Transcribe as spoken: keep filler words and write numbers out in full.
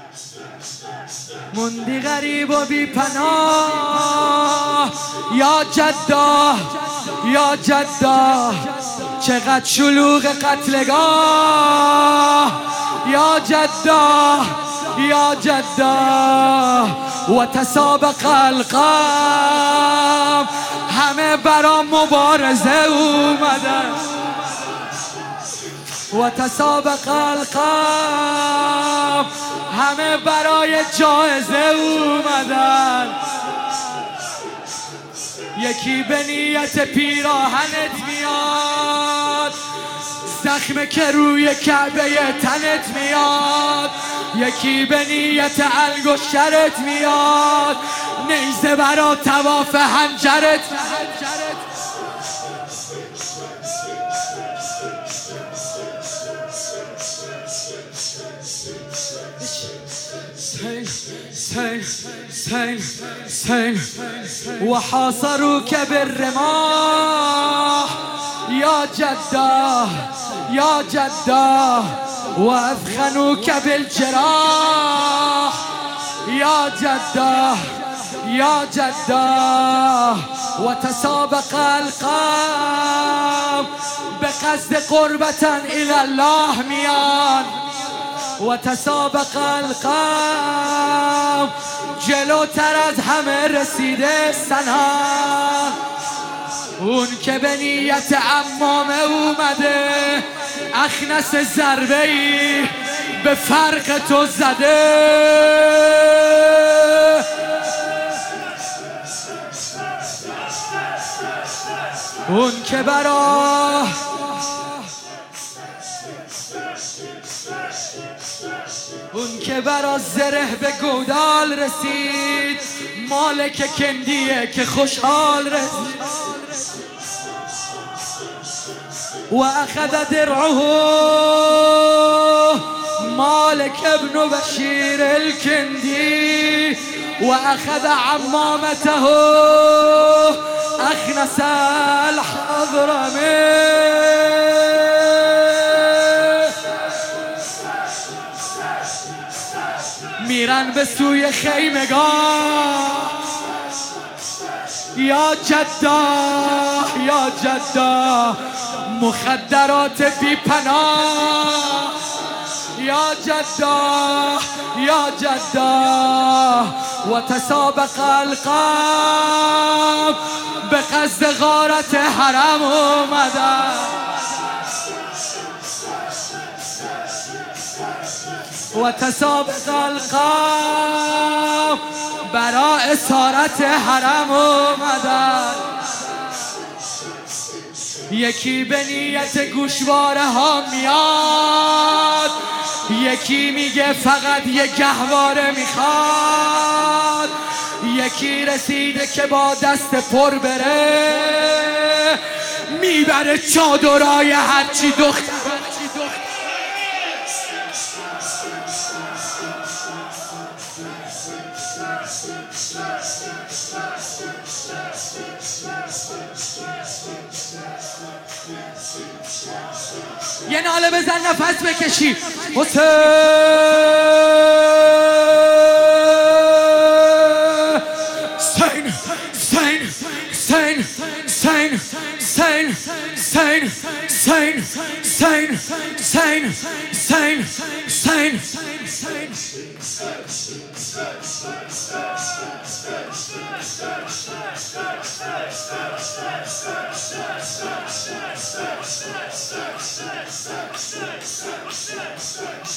موندی غریب و بی پناه یا جدا یا جدا، چقدر شلوغ قتلگاه یا جدا یا جدا، و تسابق القام، همه برا مبارزه اومدن، و تسابق القام، همه برای جایزه اومدن. یکی به نیت پیراهنت میاد، زخم که روی کعبه تنت میاد. یکی به نیت انگشترت میاد، نیزه برا طواف حنجرت. سين سين سين وحاصروك بالرماح يا جدة يا جدة، وأثخنوك بالجراح يا جدة يا جدة، وتسابق القام بقصد قربة إلى الله ميان، وتسابق القام، جلوتر از همه رسیده سنا. اون که به نیت عمامه اومده، اخنس ضربه‌ای به فرق تو زده. اون که برا اون که برا زره به گودال رسید، مالک کندیه که خوشحال رسید. و اخذ درعه مالک ابن بشیر الکندی، و اخذ عمامته اخنس الحضرمی. میرن به سوی خیمگاه یا جدا یا جدا، مخدرات بی پناه یا جدا یا جدا، و تسابق القام به قصد غارت حرم اومدن. و تسابق القام برا اسارت حرم اومدن. یکی به نیت گوشواره ها میاد، یکی میگه فقط یه گهواره میخواد. یکی رسیده که با دست پر بره، میبره چادرای هرچی دختر. یه ناله بزن نفس بکشی. حسین سین سین سین سین سین سین سین سین سین سین سین سین